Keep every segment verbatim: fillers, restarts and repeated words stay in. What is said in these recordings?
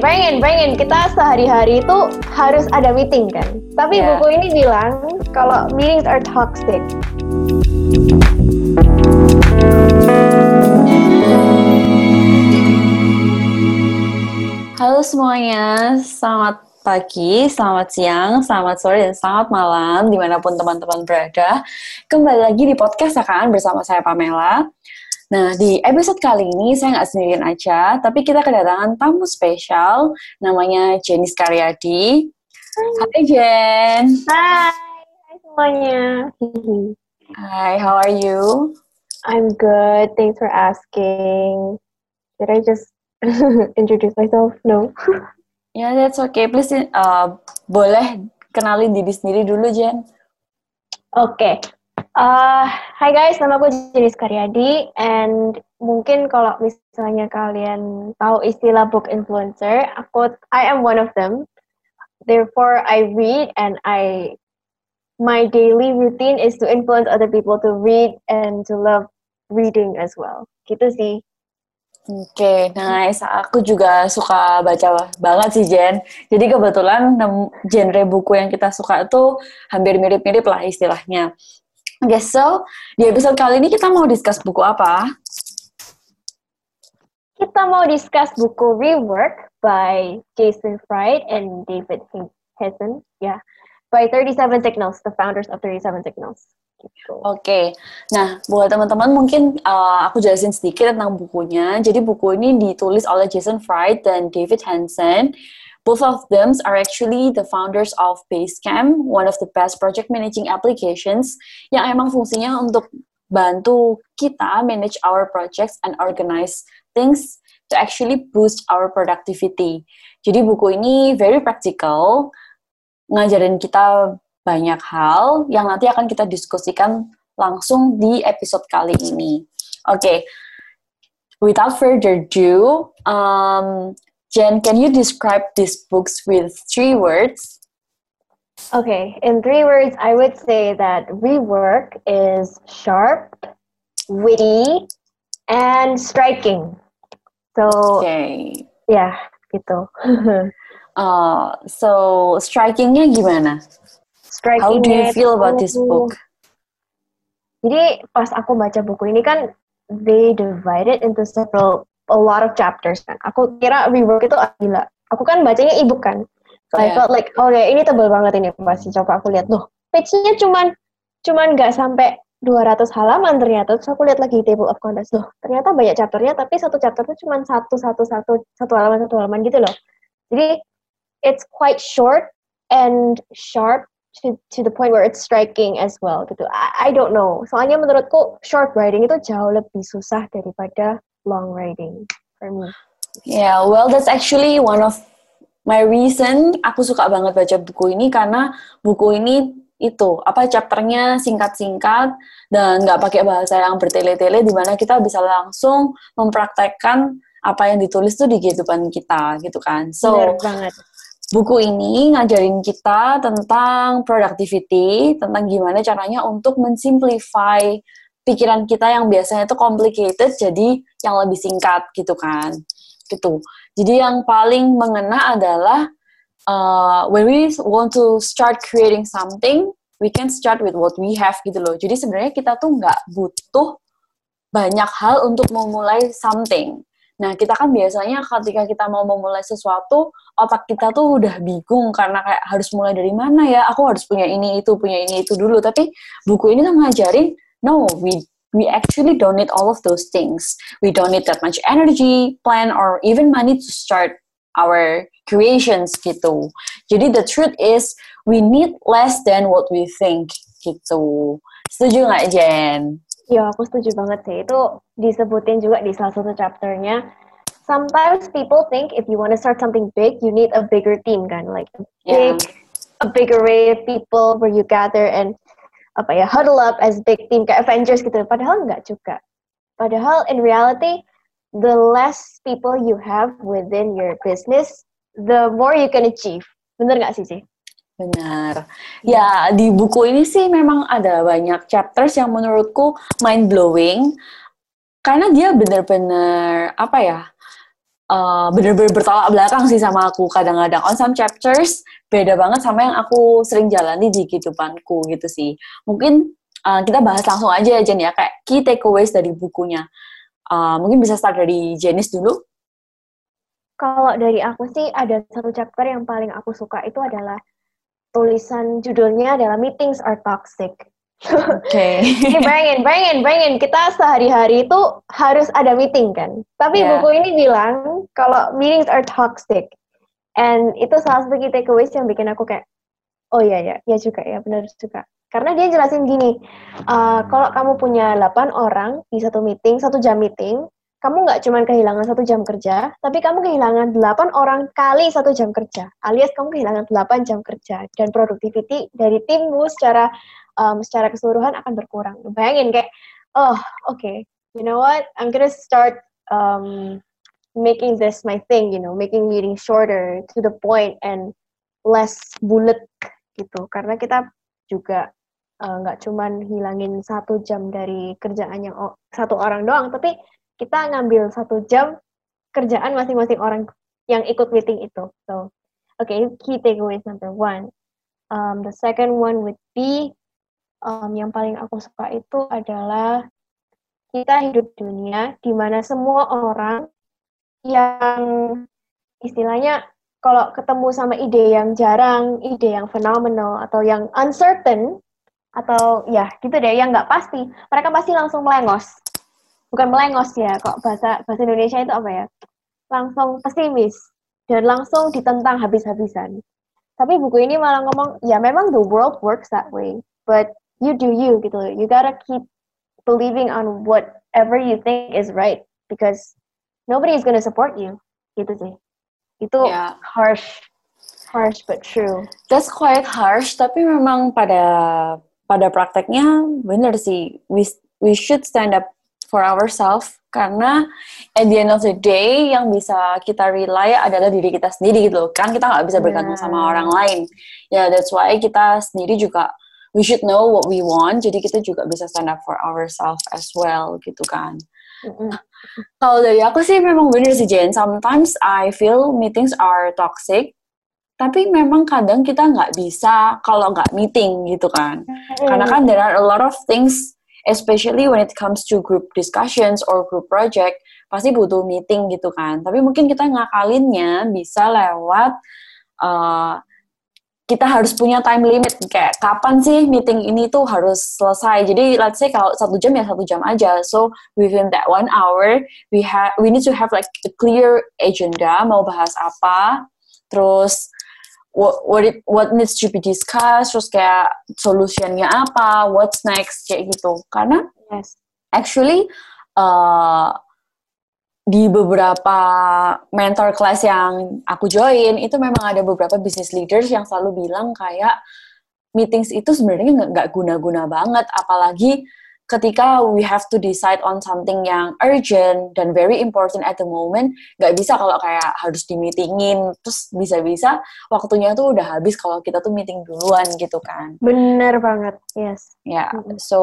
Pengen, pengen. Kita sehari-hari itu harus ada meeting kan. Tapi Yeah. buku ini bilang kalau meetings are toxic. Halo semuanya, selamat pagi, selamat siang, selamat sore, dan selamat malam dimanapun teman-teman berada. Kembali lagi di podcast Sakaan bersama saya Pamela. Nah, di episode kali ini saya nggak sendirian aja, tapi kita kedatangan tamu spesial, namanya Jenny Karyadi. Hai Jen. Hai, hai semuanya. Hi, how are you? I'm good, thanks for asking. Did I just introduce myself? No. Ya, yeah, that's okay. Please, uh, boleh kenalin diri sendiri dulu, Jen. Oke. Okay. Uh, Hai guys, nama aku Jenny Karyadi, and mungkin kalau misalnya kalian tahu istilah book influencer, aku I am one of them. Therefore, I read and I my daily routine is to influence other people to read and to love reading as well. Gitu sih. Oke, okay, nice. Aku juga suka baca banget sih, Jen. Jadi kebetulan genre buku yang kita suka itu hampir mirip-mirip lah istilahnya. Oke, okay, so di episode kali ini kita mau discuss buku apa? Kita mau discuss buku Rework by Jason Fried and David Hessen, ya, yeah, by thirty-seven Signals, the founders of thirty-seven Signals. Gitu. Oke, okay. Nah buat teman-teman mungkin uh, aku jelasin sedikit tentang bukunya. Jadi buku ini ditulis oleh Jason Fried dan David Hansen. Both of them are actually the founders of Basecamp, one of the best project managing applications yang emang fungsinya untuk bantu kita manage our projects and organize things to actually boost our productivity. Jadi buku ini very practical, ngajarin kita banyak hal yang nanti akan kita diskusikan langsung di episode kali ini. Oke, okay. Without further ado, um, Jen, can you describe these books with three words? Okay, in three words, I would say that Rework is sharp, witty, and striking. So, okay. yeah, gitu. uh, so, strikingnya gimana? Striking How do you feel about this book? Jadi, pas aku baca buku ini kan, they divided into several a lot of chapters kan. Aku kira Rework itu gila. Aku kan bacanya e-book kan. So yeah. I felt like, oh ya, ini tebal banget ini pasti. Coba aku lihat. Loh, page-nya cuman cuman nggak sampai dua ratus halaman ternyata. Terus aku lihat lagi table of contents. Loh, ternyata banyak chapternya, tapi satu chapter itu cuman satu satu satu satu halaman satu halaman gitu loh. Jadi it's quite short and sharp to to the point where it's striking as well gitu. I, I don't know. Soalnya menurutku short writing itu jauh lebih susah daripada long writing for me. Yeah, well that's actually one of my reason aku suka banget baca buku ini karena buku ini itu apa chapternya singkat-singkat dan nggak pakai bahasa yang bertele-tele di mana kita bisa langsung mempraktekkan apa yang ditulis tuh di kehidupan kita gitu kan. So benar banget. Buku ini ngajarin kita tentang productivity, tentang gimana caranya untuk mensimplify pikiran kita yang biasanya itu complicated jadi yang lebih singkat gitu kan. Gitu. Jadi yang paling mengena adalah uh, when we want to start creating something, we can start with what we have gitu loh. Jadi sebenarnya kita tuh nggak butuh banyak hal untuk memulai something. Nah, kita kan biasanya ketika kita mau memulai sesuatu, otak kita tuh udah bingung karena kayak harus mulai dari mana ya, aku harus punya ini, itu, punya ini, itu dulu. Tapi buku ini tuh ngajarin, no, we we actually don't need all of those things. We don't need that much energy, plan, or even money to start our creations gitu. Jadi the truth is, we need less than what we think gitu. Setuju nggak, Jen? Ya, aku setuju banget sih. Itu disebutin juga di salah satu chapternya. Sometimes people think if you want to start something big, you need a bigger team kan, like a big, yeah. a big array of people where you gather and apa ya huddle up as big team kayak Avengers gitu. Padahal nggak juga. Padahal in reality, the less people you have within your business, the more you can achieve. Bener nggak sih sih? Benar. Ya, di buku ini sih memang ada banyak chapters yang menurutku mind-blowing. Karena dia benar-benar, apa ya, uh, bener-bener bertolak belakang sih sama aku kadang-kadang. On some chapters beda banget sama yang aku sering jalani di kehidupanku gitu sih. Mungkin uh, kita bahas langsung aja Jen ya, kayak key takeaways dari bukunya. Uh, mungkin bisa start dari Janice dulu. Kalau dari aku sih ada satu chapter yang paling aku suka itu adalah tulisan judulnya adalah Meetings Are Toxic. Oke. Okay. Jadi bayangin, bayangin, bayangin kita sehari-hari itu harus ada meeting kan. Tapi yeah. buku ini bilang kalau meetings are toxic. And itu salah satu key takeaways yang bikin aku kayak, oh iya ya, ya juga ya, benar juga. Karena dia jelasin gini, uh, kalau kamu punya delapan orang di satu meeting, satu jam meeting, kamu nggak cuma kehilangan satu jam kerja, tapi kamu kehilangan delapan orang kali satu jam kerja, alias kamu kehilangan delapan jam kerja, dan productivity dari timmu secara um, secara keseluruhan akan berkurang. Bayangin kayak, oh oke, okay, you know what, I'm gonna start um, making this my thing, you know, making meeting shorter, to the point, and less bullet gitu. Karena kita juga nggak uh, cuman hilangin satu jam dari kerjaan yang o- satu orang doang, tapi kita ngambil satu jam kerjaan masing-masing orang yang ikut meeting itu. So, okay, key takeaways number one. Um, the second one would be, um, yang paling aku suka itu adalah kita hidup di dunia di mana semua orang yang istilahnya kalau ketemu sama ide yang jarang, ide yang phenomenal, atau yang uncertain, atau ya gitu deh, yang nggak pasti, mereka pasti langsung melengos. Bukan melengos ya, kok bahasa bahasa Indonesia itu apa ya? Langsung pesimis dan langsung ditentang habis-habisan. Tapi buku ini malah ngomong, ya memang the world works that way, but you do you gitu. You gotta keep believing on whatever you think is right, because nobody is gonna support you. Gitu sih. Itu yeah. harsh, harsh but true. That's quite harsh, tapi memang pada pada prakteknya benar sih. We we should stand up for ourselves, karena at the end of the day yang bisa kita rely adalah diri kita sendiri gitu kan. Kita nggak bisa bergantung yeah. sama orang lain ya. Yeah, that's why kita sendiri juga we should know what we want, jadi kita juga bisa stand up for ourselves as well gitu kan. Mm-hmm. Kalau dari aku sih memang bener sih Jen, sometimes I feel meetings are toxic, tapi memang kadang kita nggak bisa kalau nggak meeting gitu kan. Mm-hmm. Karena kan there are a lot of things, especially when it comes to group discussions or group project, pasti butuh meeting gitu kan. Tapi mungkin kita ngakalinnya bisa lewat, uh, kita harus punya time limit, kayak kapan sih meeting ini tuh harus selesai. Jadi let's say kalau satu jam ya satu jam aja. So within that one hour, we have we need to have like a clear agenda, mau bahas apa, terus what what, it, what needs to be discussed, terus kayak solutionnya apa, what's next, kayak gitu. Karena yes. actually uh, di beberapa mentor class yang aku join, itu memang ada beberapa business leaders yang selalu bilang kayak meetings itu sebenarnya nggak guna-guna banget, apalagi ketika we have to decide on something yang urgent dan very important at the moment, nggak bisa kalau kayak harus di-meetingin, terus bisa-bisa waktunya tuh udah habis kalau kita tuh meeting duluan gitu kan. Bener banget, yes. Ya, yeah. So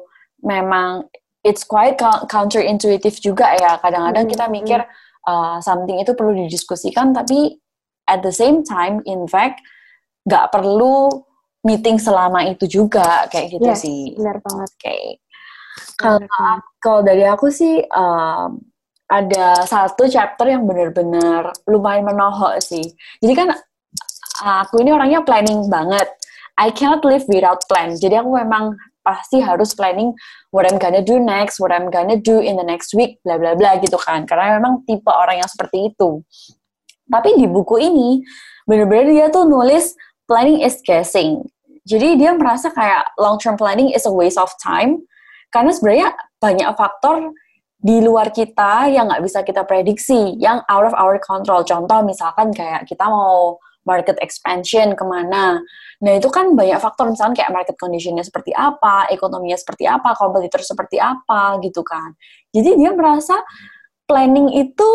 memang it's quite counterintuitive juga ya. Kadang-kadang kita mikir uh, something itu perlu didiskusikan, tapi at the same time, in fact, nggak perlu meeting selama itu juga, kayak gitu yes, sih. Benar banget. Oke. Okay. Kalau kalau dari aku sih um, ada satu chapter yang benar-benar lumayan menohok sih. Jadi kan aku ini orangnya planning banget. I cannot live without plan. Jadi aku memang pasti harus planning what I'm gonna do next, what I'm gonna do in the next week, bla bla bla gitu kan. Karena memang tipe orang yang seperti itu. Tapi di buku ini, bener-bener dia tuh nulis planning is guessing. Jadi dia merasa kayak long-term planning is a waste of time, karena sebenarnya banyak faktor di luar kita yang nggak bisa kita prediksi, yang out of our control. Contoh misalkan kayak kita mau market expansion kemana. Nah itu kan banyak faktor, misalnya kayak market conditionnya seperti apa, ekonominya seperti apa, kompetitor seperti apa gitu kan. Jadi dia merasa planning itu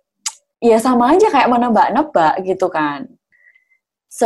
ya sama aja kayak menebak-nebak gitu kan. So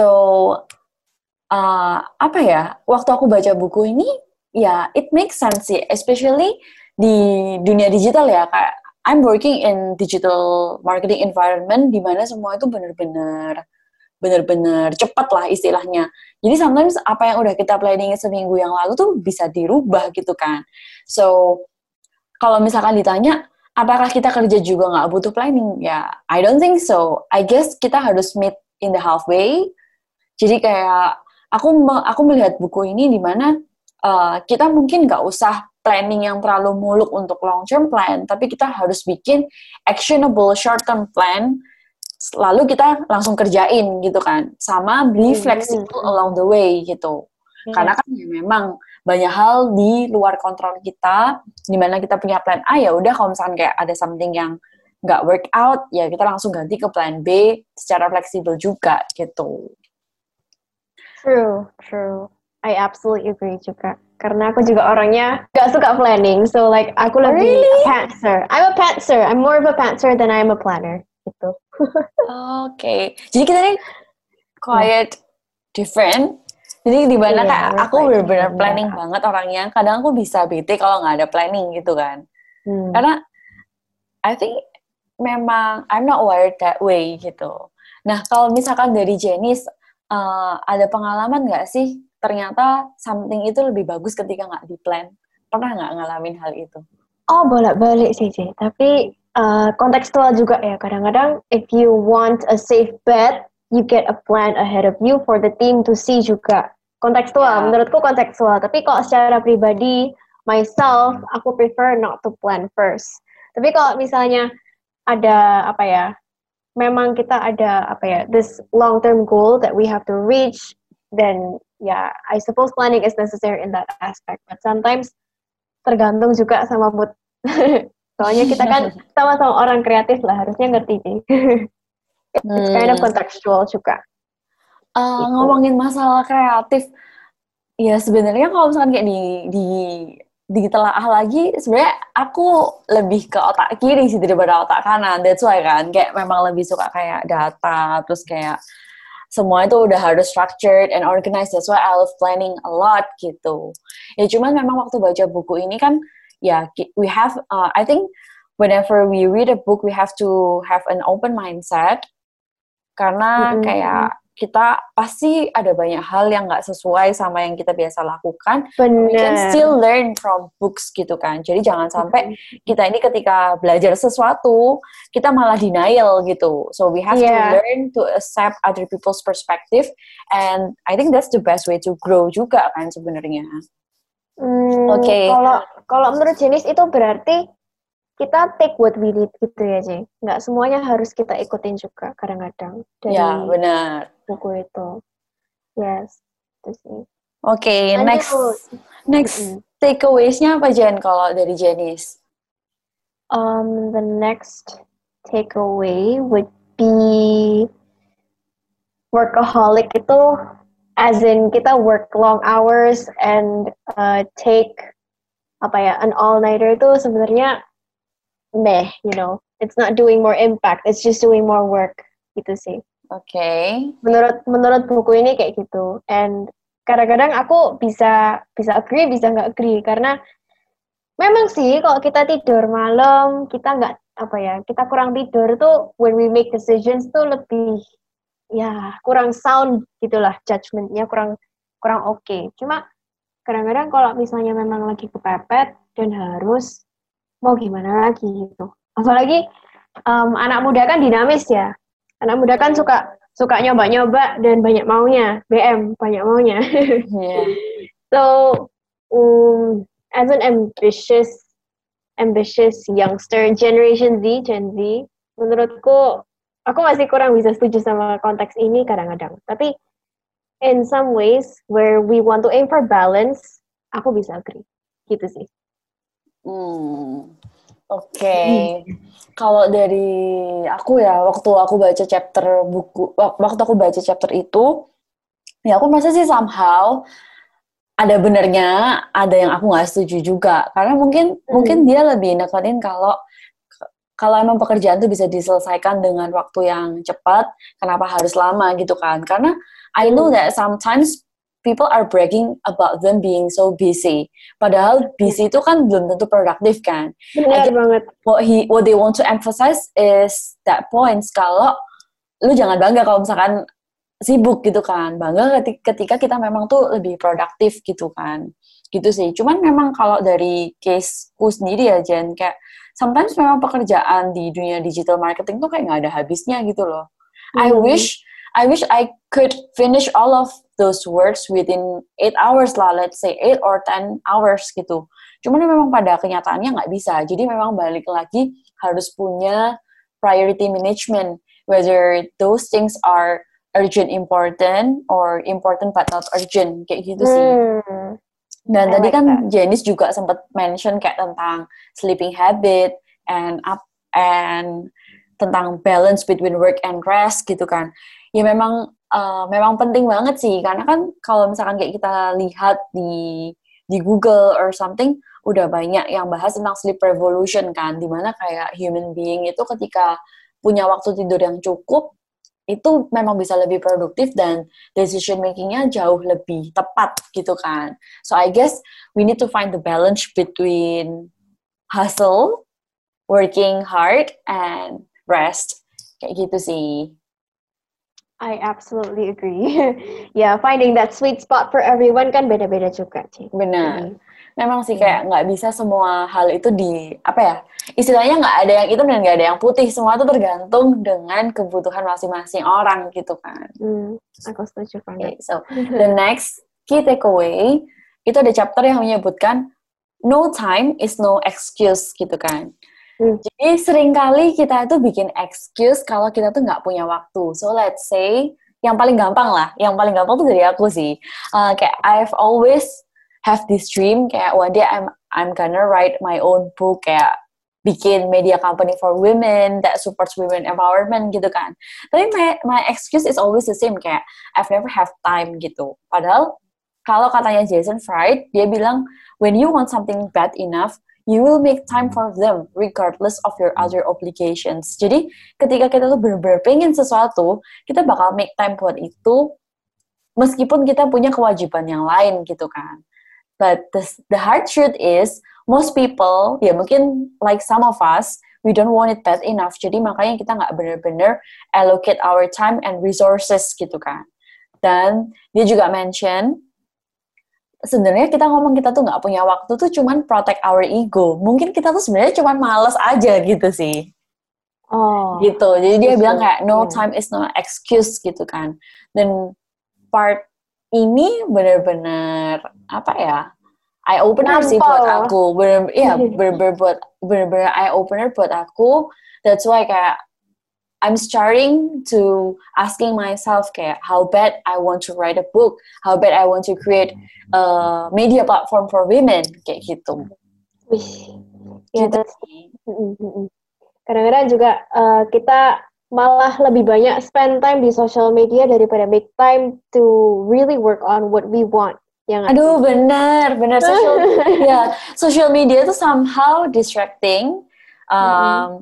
uh, apa ya, waktu aku baca buku ini ya it makes sense sih, especially di dunia digital ya, kayak I'm working in digital marketing environment di mana semua itu benar-benar benar-benar cepat lah istilahnya. Jadi sometimes apa yang udah kita planning seminggu yang lalu tuh bisa dirubah gitu kan. So kalau misalkan ditanya apakah kita kerja juga nggak butuh planning? Ya, I don't think so. I guess kita harus meet in the halfway. Jadi kayak aku aku melihat buku ini di mana uh, kita mungkin nggak usah planning yang terlalu muluk untuk long term plan, tapi kita harus bikin actionable short term plan, lalu kita langsung kerjain gitu kan, sama be flexible along the way gitu. Hmm. Karena kan ya memang banyak hal di luar kontrol kita, di mana kita punya plan A, ya udah kalau misalkan kayak ada something yang nggak work out, ya kita langsung ganti ke plan B secara fleksibel juga gitu. True, true. I absolutely agree juga. Karena aku juga orangnya gak suka planning. So like, aku lebih really? a pantser. I'm a pantser. I'm more of a pantser than I'm a planner. Gitu. Oke. Okay. Jadi kita ini quite yeah. different. Jadi di mana yeah, kayak aku benar-benar planning yeah. banget orangnya. Kadang aku bisa bete kalau nggak ada planning gitu kan. Hmm. Karena I think memang I'm not wired that way gitu. Nah, kalau misalkan dari Janice, uh, ada pengalaman nggak sih ternyata something itu lebih bagus ketika nggak di-plan? Pernah nggak ngalamin hal itu? Oh, bolak-balik sih, Ci. Tapi uh, kontekstual juga ya. Kadang-kadang if you want a safe bet, you get a plan ahead of you for the team to see juga. Kontekstual, yeah. Menurutku kontekstual. Tapi kalau secara pribadi, myself, aku prefer not to plan first. Tapi kalau misalnya ada, apa ya, memang kita ada, apa ya, this long-term goal that we have to reach, then yeah, I suppose planning is necessary in that aspect. But sometimes tergantung juga sama mood. Soalnya kita kan sama-sama orang kreatif lah, harusnya ngerti sih. It's hmm. kind of contextual juga. Uh, gitu. Ngomongin masalah kreatif, ya sebenarnya kalau misalkan kayak di di ditelaah lagi, sebenarnya aku lebih ke otak kiri sih daripada otak kanan. That's why kan, kayak memang lebih suka kayak data, terus kayak semua itu udah harus structured and organized. That's why I love planning a lot gitu. Ya cuman memang waktu baca buku ini kan, ya we have, uh, I think whenever we read a book, we have to have an open mindset. Karena mm-hmm. kayak kita pasti ada banyak hal yang nggak sesuai sama yang kita biasa lakukan. Bener. We can still learn from books gitu kan. Jadi jangan sampai kita ini ketika belajar sesuatu, kita malah denial gitu. So we have yeah. to learn to accept other people's perspective. And I think that's the best way to grow juga kan sebenarnya. Hmm, Oke. Okay. Kalau kalau menurut Janice itu berarti kita take what we need gitu ya, Jay. Nggak semuanya harus kita ikutin juga kadang-kadang dari ya, benar. buku itu. Yes, itu sih. Oke, okay, next next mm-hmm. takeaways-nya apa, Jen, kalau dari Janice? Um, the next takeaway would be workaholic itu as in kita work long hours and uh, take apa ya, an all-nighter itu sebenarnya meh, you know, it's not doing more impact, it's just doing more work, gitu sih. Oke. Okay. Menurut menurut buku ini kayak gitu. And kadang-kadang aku bisa bisa agree, bisa nggak agree karena memang sih kalau kita tidur malam, kita nggak apa ya, kita kurang tidur tuh when we make decisions tuh lebih ya kurang sound gitulah, judgement-nya kurang kurang oke. Okay. Cuma kadang-kadang kalau misalnya memang lagi kepepet dan harus mau gimana lagi gitu. Apalagi um, anak muda kan dinamis ya. Anak muda kan suka suka nyoba-nyoba dan banyak maunya. B M banyak maunya. Yeah. So um, as an ambitious ambitious youngster, Generation Z, Gen Z, menurutku aku masih kurang bisa setuju sama konteks ini kadang-kadang. Tapi in some ways where we want to aim for balance, aku bisa agree. Gitu sih. Hmm, oke. Okay. Hmm. Kalau dari aku ya, waktu aku baca chapter buku, waktu aku baca chapter itu, ya aku merasa sih somehow ada benernya, ada yang aku nggak setuju juga. Karena mungkin hmm. mungkin dia lebih nekenin kalau kalau emang pekerjaan itu bisa diselesaikan dengan waktu yang cepat, kenapa harus lama gitu kan? Karena I know that sometimes people are bragging about them being so busy. Padahal busy itu kan belum tentu produktif kan. Benar banget. What he what they want to emphasize is that points kalau lu jangan bangga kalau misalkan sibuk gitu kan. Bangga ketika kita memang tuh lebih produktif gitu kan. Gitu sih. Cuman memang kalau dari caseku sendiri ya Jen, kayak sometimes memang pekerjaan di dunia digital marketing tuh kayak nggak ada habisnya gitu loh. Hmm. I wish I wish I could finish all of those works within eight hours lah, let's say eight or ten hours gitu. Cuman memang pada kenyataannya nggak bisa. Jadi memang balik lagi harus punya priority management, whether those things are urgent important or important but not urgent, kayak gitu sih. Hmm. Dan I tadi like kan that. Janice juga sempat mention kayak tentang sleeping habit and up and tentang balance between work and rest gitu kan. Ya memang uh, memang penting banget sih, karena kan kalau misalkan kayak kita lihat di di Google or something udah banyak yang bahas tentang sleep revolution kan, dimana kayak human being itu ketika punya waktu tidur yang cukup itu memang bisa lebih produktif dan decision makingnya jauh lebih tepat gitu kan. So I guess we need to find the balance between hustle, working hard, and rest, kayak gitu sih. I absolutely agree. Yeah, finding that sweet spot for everyone kan beda-beda juga sih. Benar. Jadi, memang sih kayak nggak yeah. bisa semua hal itu di apa ya? Istilahnya nggak ada yang hitam dan nggak ada yang putih. Semua itu tergantung dengan kebutuhan masing-masing orang gitu kan. Hmm, aku setuju banget. Okay, so the next key takeaway itu ada chapter yang menyebutkan no time is no excuse gitu kan. Hmm. Jadi seringkali kita tuh bikin excuse kalau kita tuh nggak punya waktu. So let's say, yang paling gampang lah, yang paling gampang tuh dari aku sih. Uh, kayak I've always have this dream, kayak one day I'm I'm gonna write my own book, kayak bikin media company for women that supports women empowerment gitu kan. Tapi my my excuse is always the same, kayak I've never have time gitu. Padahal kalau katanya Jason Fried, dia bilang when you want something bad enough, you will make time for them regardless of your other obligations. Jadi ketika kita tuh bener-bener pengen sesuatu, kita bakal make time buat itu meskipun kita punya kewajiban yang lain gitu kan. But the, the hard truth is, most people, ya mungkin like some of us, we don't want it bad enough. Jadi makanya kita nggak bener-bener allocate our time and resources gitu kan. Dan dia juga mention, sebenarnya kita ngomong kita tuh nggak punya waktu tuh cuman protect our ego. Mungkin kita tuh sebenarnya cuman males aja gitu sih. Oh. Gitu. Jadi dia bilang kayak no time is no excuse gitu kan. Dan part ini benar-benar apa ya? Eye opener sih buat aku. Bener, ya bener-bener buat bener-bener eye opener buat aku. That's why kayak I'm starting to asking myself kayak how bad I want to write a book, how bad I want to create a media platform for women, kayak gitu. Wih, ya gitu. Kadang-kadang juga uh, kita malah lebih banyak spend time di social media daripada make time to really work on what we want. Yang Aduh, benar, benar social ya, social media itu somehow distracting. Um, mm-hmm.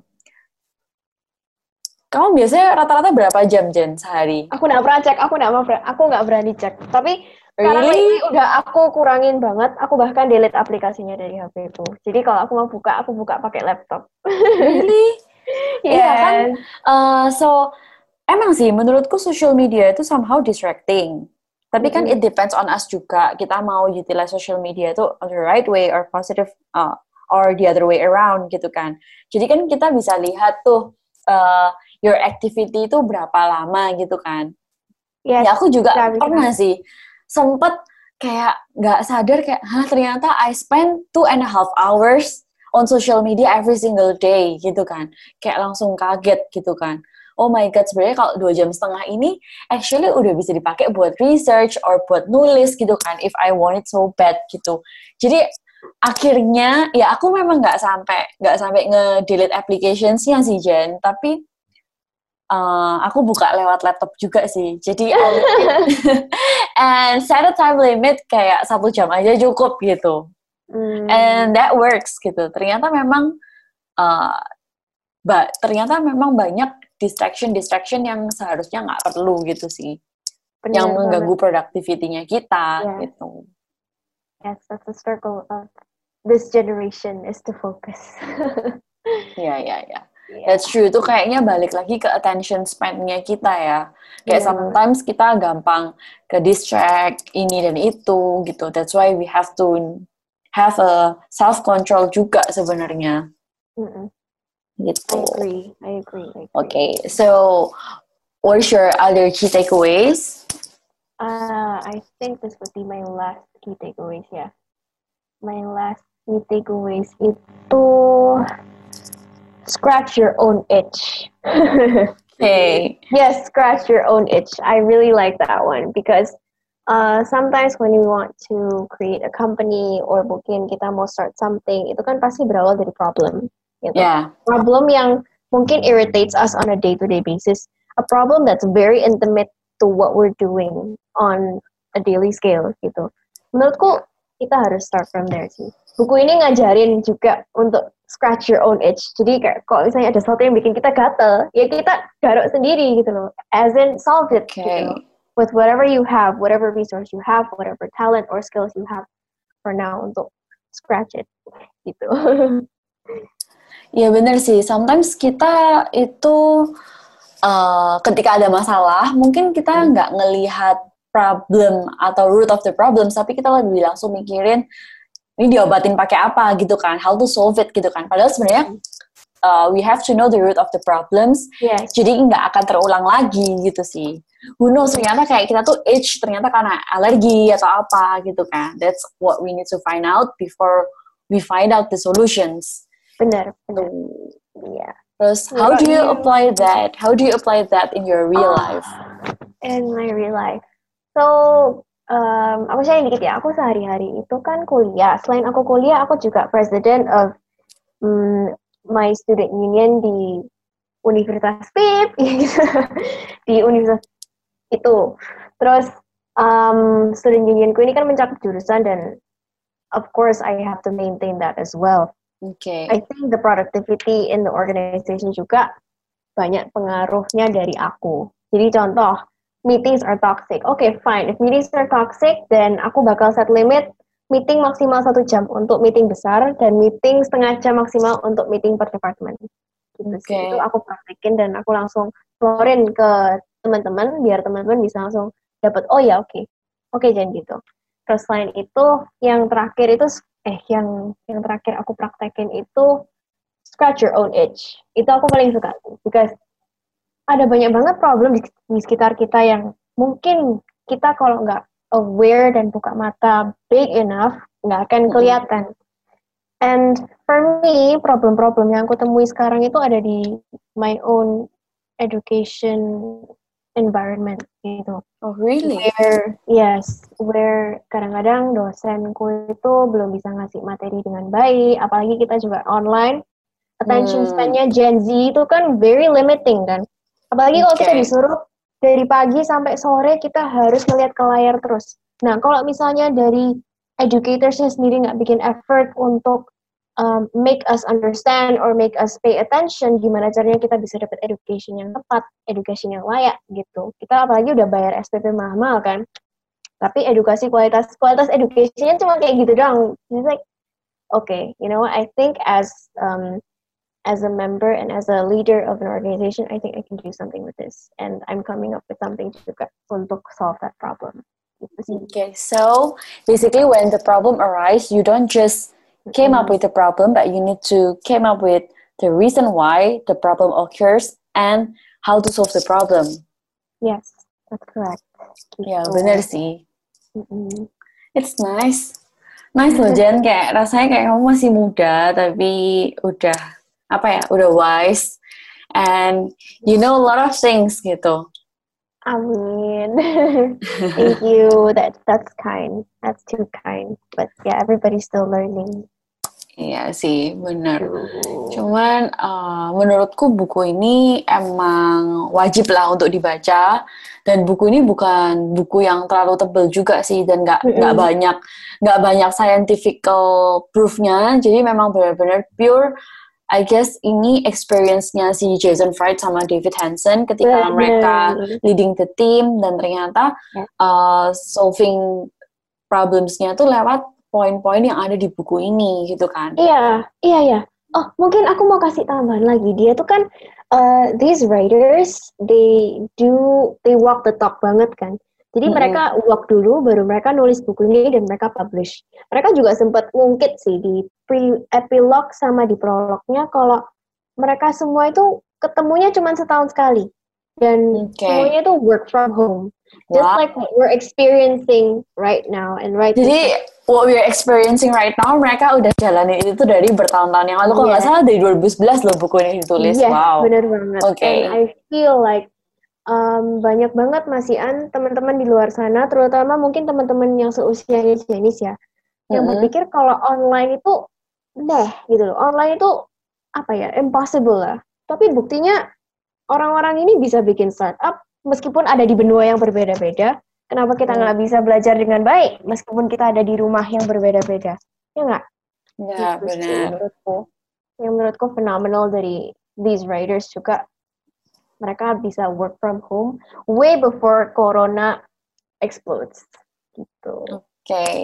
Kamu biasanya rata-rata berapa jam, Jen, sehari? Aku nggak pernah cek, aku nggak mau, aku nggak berani cek. Tapi sekarang really? Ini udah aku kurangin banget. Aku bahkan delete aplikasinya dari H P ku. Jadi kalau aku mau buka, aku buka pakai laptop. Really? Iya yes. yeah, kan? Uh, so emang sih, menurutku social media itu somehow distracting. Tapi mm-hmm. kan it depends on us juga. Kita mau utilize social media itu the right way or positive uh, or the other way around gitu kan. Jadi kan kita bisa lihat tuh. Uh, your activity itu berapa lama gitu kan. Yes, ya aku juga pernah sih sempet kayak nggak sadar kayak hah ternyata I spend two and a half hours on social media every single day gitu kan. Kayak langsung kaget gitu kan. Oh my god, sebenarnya kalau dua jam setengah ini actually udah bisa dipakai buat research or buat nulis gitu kan if I want it so bad gitu. Jadi akhirnya ya aku memang nggak sampai nggak sampai nge-delete applications-nya sih Jen, tapi Uh, aku buka lewat laptop juga sih. Jadi and set a time limit kayak satu jam aja cukup gitu. Hmm. And that works gitu. Ternyata memang uh, ba- ternyata memang banyak distraction-distraction yang seharusnya nggak perlu gitu sih. Bener yang mengganggu banget. productivity-nya kita Yeah. gitu. Yes, that's the struggle of this generation is to focus. Iya, iya, iya. Yeah. That's true. Itu kayaknya balik lagi ke attention span-nya kita ya. Kayak Bener sometimes banget. Kita gampang ke distract ini dan itu gitu. That's why we have to have a self-control juga sebenarnya. Mm-mm. Gitu. I agree. I agree. I agree. Okay, so what's your other key takeaways? Uh, I think this would be my last key takeaways, yeah. My last key takeaways itu scratch your own itch. Okay. Yes, scratch your own itch. I really like that one because uh, sometimes when you want to create a company or mungkin kita mau start something, itu kan pasti berawal dari problem. Gitu. Yeah. Problem yang mungkin irritates us on a day-to-day basis. A problem that's very intimate to what we're doing on a daily scale gitu. Menurutku kita harus start from there sih. Buku ini ngajarin juga untuk scratch your own itch. Jadi kayak kalau misalnya ada sesuatu yang bikin kita gatel, ya kita garuk sendiri gitu loh. As in solve it Okay. gitu loh. With whatever you have, whatever resource you have, whatever talent or skills you have for now untuk scratch it gitu. Ya benar sih. Sometimes kita itu uh, ketika ada masalah, mungkin kita nggak hmm. ngelihat problem atau root of the problem, tapi kita lebih langsung mikirin ini diobatin pakai apa gitu kan, how to solve it gitu kan. Padahal sebenarnya uh, we have to know the root of the problems. Yes. Jadi nggak akan terulang lagi gitu sih. Who knows, ternyata kayak kita tuh itch ternyata karena alergi atau apa gitu kan. That's what we need to find out before we find out the solutions. Benar, benar. Iya. Yeah. Terus, how do you apply that? How do you apply that in your real oh, life? In my real life. So, um, aku sharing dikit ya. Aku sehari-hari itu kan kuliah. Selain aku kuliah, aku juga president of um, my student union di Universitas P I P. Di universitas itu. Terus, um, student unionku ini kan mencakup jurusan dan of course I have to maintain that as well. Okay. I think the productivity in the organization juga banyak pengaruhnya dari aku. Jadi contoh, meetings are toxic. Okay, fine. If meetings are toxic, then aku bakal set limit meeting maksimal satu jam untuk meeting besar dan meeting setengah jam maksimal untuk meeting per department. Gitu okay. sih. Itu aku praktekin dan aku langsung keluarin ke teman-teman biar teman-teman bisa langsung dapat, oh ya oke, okay. oke okay, jangan gitu. Terus selain itu, yang terakhir itu eh yang yang terakhir aku praktekin itu scratch your own itch. Itu aku paling suka because ada banyak banget problem di, di sekitar kita yang mungkin kita kalau nggak aware dan buka mata big enough nggak akan kelihatan. And for me, problem-problem yang aku temui sekarang itu ada di my own education environment gitu. Oh really? Where yes, where kadang-kadang dosenku itu belum bisa ngasih materi dengan baik, apalagi kita juga online. Attention hmm. span-nya Gen Z itu kan very limiting kan. Apalagi okay. kalau kita disuruh dari pagi sampai sore kita harus melihat ke layar terus. Nah, kalau misalnya dari educatorsnya sendiri nggak bikin effort untuk um, make us understand or make us pay attention, gimana caranya kita bisa dapat education yang tepat, education yang layak gitu. Kita apalagi udah bayar S P P mahal kan. Tapi edukasi kualitas kualitas education-nya cuma kayak gitu doang. It's like, okay, you know what? I think as um, as a member and as a leader of an organization, I think I can do something with this. And I'm coming up with something juga untuk solve that problem. Okay, so basically when the problem arises, you don't just came up with the problem, but you need to came up with the reason why the problem occurs and how to solve the problem. Yes, that's correct. Ya, yeah, benar sih. Mm-hmm. It's nice. Nice loh, Jen. Kayak rasanya kayak kamu masih muda, tapi udah, apa ya, udah wise. And you know a lot of things gitu. Amin. Thank you. That that's kind. That's too kind. But yeah, everybody's still learning. Iya sih, benar. Cuman uh, menurutku buku ini emang wajib lah untuk dibaca. Dan buku ini bukan buku yang terlalu tebal juga sih, dan nggak nggak mm-hmm. banyak nggak banyak scientific proof-nya. Jadi memang benar-benar pure I guess ini experience-nya si Jason Fried sama David Hansen ketika Bener. mereka leading the team dan ternyata yeah. uh, solving problems-nya tuh lewat poin-poin yang ada di buku ini gitu kan. Iya, iya, iya. Oh, mungkin aku mau kasih tambahan lagi. Dia tuh kan, uh, these writers, they do, they walk the talk banget kan. Jadi mm-hmm. mereka walk dulu, baru mereka nulis buku ini dan mereka publish. Mereka juga sempat ngungkit sih di pre-epilogue sama di prolognya kalau mereka semua itu ketemunya cuma setahun sekali. Dan okay. semuanya itu work from home. Just wow. like what we're experiencing right now. And right Jadi, now. What we're experiencing right now, mereka udah jalanin itu tuh dari bertahun-tahun yang lalu. Kalau nggak yeah. salah dari dua ribu sebelas loh buku ini ditulis. Yes, wow. bener banget. Okay. And I feel like Um, banyak banget masihan teman-teman di luar sana, terutama mungkin teman-teman yang seusianya Janice ya, yang mm-hmm. berpikir kalau online itu deh gitu loh, online itu apa ya, impossible lah. Tapi buktinya orang-orang ini bisa bikin startup meskipun ada di benua yang berbeda-beda. Kenapa kita nggak mm. bisa belajar dengan baik meskipun kita ada di rumah yang berbeda-beda? Ya nggak? Ya gitu benar. Sih, menurutku, yang menurutku fenomenal dari these writers juga. Mereka bisa work from home way before Corona explodes. Gitu. Oke, okay.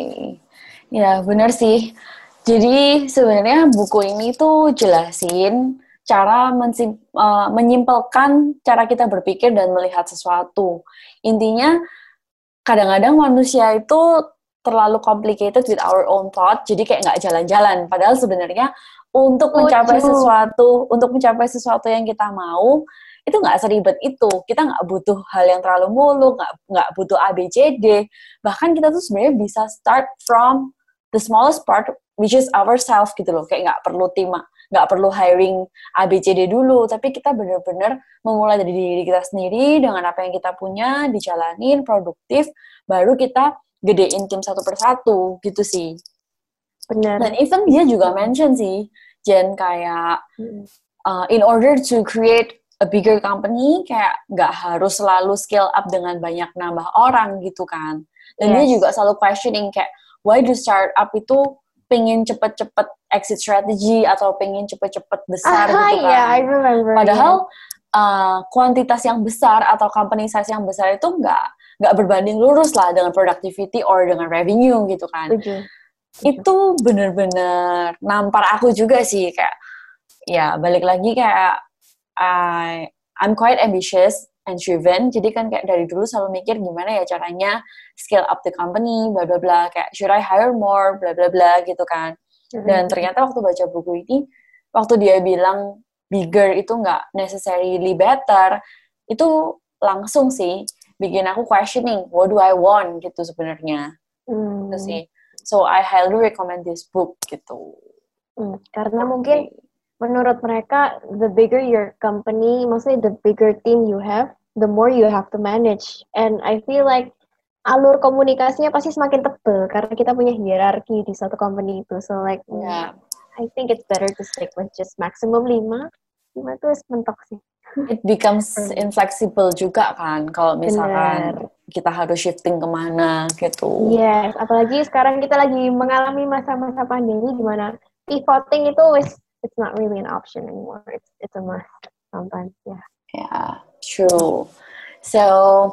Ya benar sih. Jadi sebenarnya buku ini tuh jelasin cara mensim, uh, menyimpelkan cara kita berpikir dan melihat sesuatu. Intinya kadang-kadang manusia itu terlalu complicated with our own thought, jadi kayak nggak jalan-jalan. Padahal sebenarnya untuk mencapai oh, sesuatu, untuk mencapai sesuatu yang kita mau, itu nggak seribet itu. Kita nggak butuh hal yang terlalu muluk, nggak nggak butuh A B C D. Bahkan kita tuh sebenarnya bisa start from the smallest part, which is ourselves gitu loh. Kayak nggak perlu tim, nggak perlu hiring A B C D dulu, tapi kita benar-benar memulai dari diri kita sendiri dengan apa yang kita punya, dijalanin, produktif, baru kita gedein tim satu persatu gitu sih. Benar. Dan even dia juga mention sih, Jen, kayak hmm. uh, in order to create a bigger company, kayak nggak harus selalu scale up dengan banyak nambah orang gitu kan. Dan yes. dia juga selalu questioning kayak, why do startup itu pengen cepet-cepet exit strategy atau pengen cepet-cepet besar uh, gitu kan. Yeah, I remember. Padahal uh, kuantitas yang besar atau company size yang besar itu nggak nggak berbanding lurus lah dengan productivity or dengan revenue gitu kan. Tujuh. Itu bener-bener nampar aku juga sih, kayak ya balik lagi kayak I, I'm quite ambitious and driven, jadi kan kayak dari dulu selalu mikir gimana ya caranya scale up the company, bla bla bla, kayak should I hire more, bla bla bla gitu kan. Dan ternyata waktu baca buku ini, waktu dia bilang bigger itu nggak necessarily better, itu langsung sih bikin aku questioning, what do I want gitu sebenarnya. Hmm. Gitu sih. So I highly recommend this book gitu. Hmm, karena mungkin menurut mereka, the bigger your company, maksudnya the bigger team you have, the more you have to manage. And I feel like alur komunikasinya pasti semakin tebal karena kita punya hierarki di satu company itu. So like, yeah. I think it's better to stick with just maximum lima. lima itu mentok sih. It becomes inflexible juga kan, kalau misalkan Bener. kita harus shifting kemana gitu. Yes, apalagi sekarang kita lagi mengalami masa-masa pandemi di mana pivoting itu is it's not really an option anymore. It's it's a must sometimes. Yeah. Yeah, true. So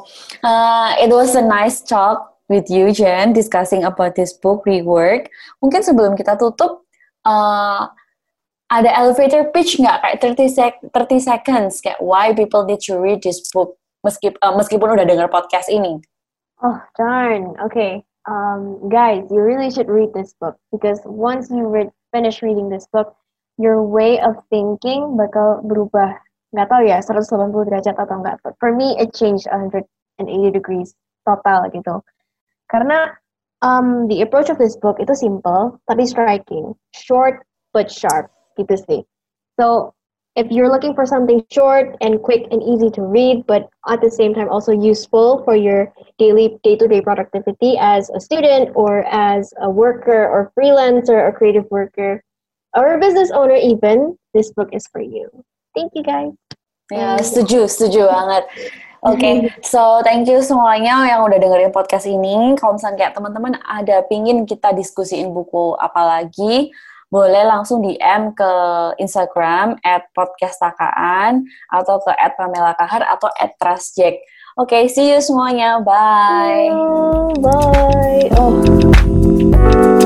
uh, it was a nice talk with you, Jen, discussing about this book, Rework. Mungkin sebelum kita tutup, uh, ada elevator pitch nggak kayak thirty, sec- thirty seconds kayak why people need to read this book meskipun uh, meskipun udah dengar podcast ini? Oh darn, okay, um, guys, you really should read this book because once you read finish reading this book, your way of thinking bakal berubah. Nggak tahu ya, seratus delapan puluh derajat atau enggak. But for me, it changed one hundred eighty degrees total gitu. Karena um, the approach of this book itu simple, tapi striking. Short but sharp, gitu sih. So, if you're looking for something short and quick and easy to read, but at the same time also useful for your daily, day-to-day productivity as a student or as a worker or freelancer or creative worker or a business owner even, this book is for you. Thank you, guys. Ya, setuju, setuju banget. Oke, okay. So thank you semuanya yang udah dengerin podcast ini. Kalau misalnya kayak teman-teman ada pingin kita diskusiin buku apa lagi, boleh langsung D M ke Instagram at podcastakaan atau ke at Pamela Kahar atau at trustjack. Oke, okay, see you semuanya. Bye. Bye. Oh.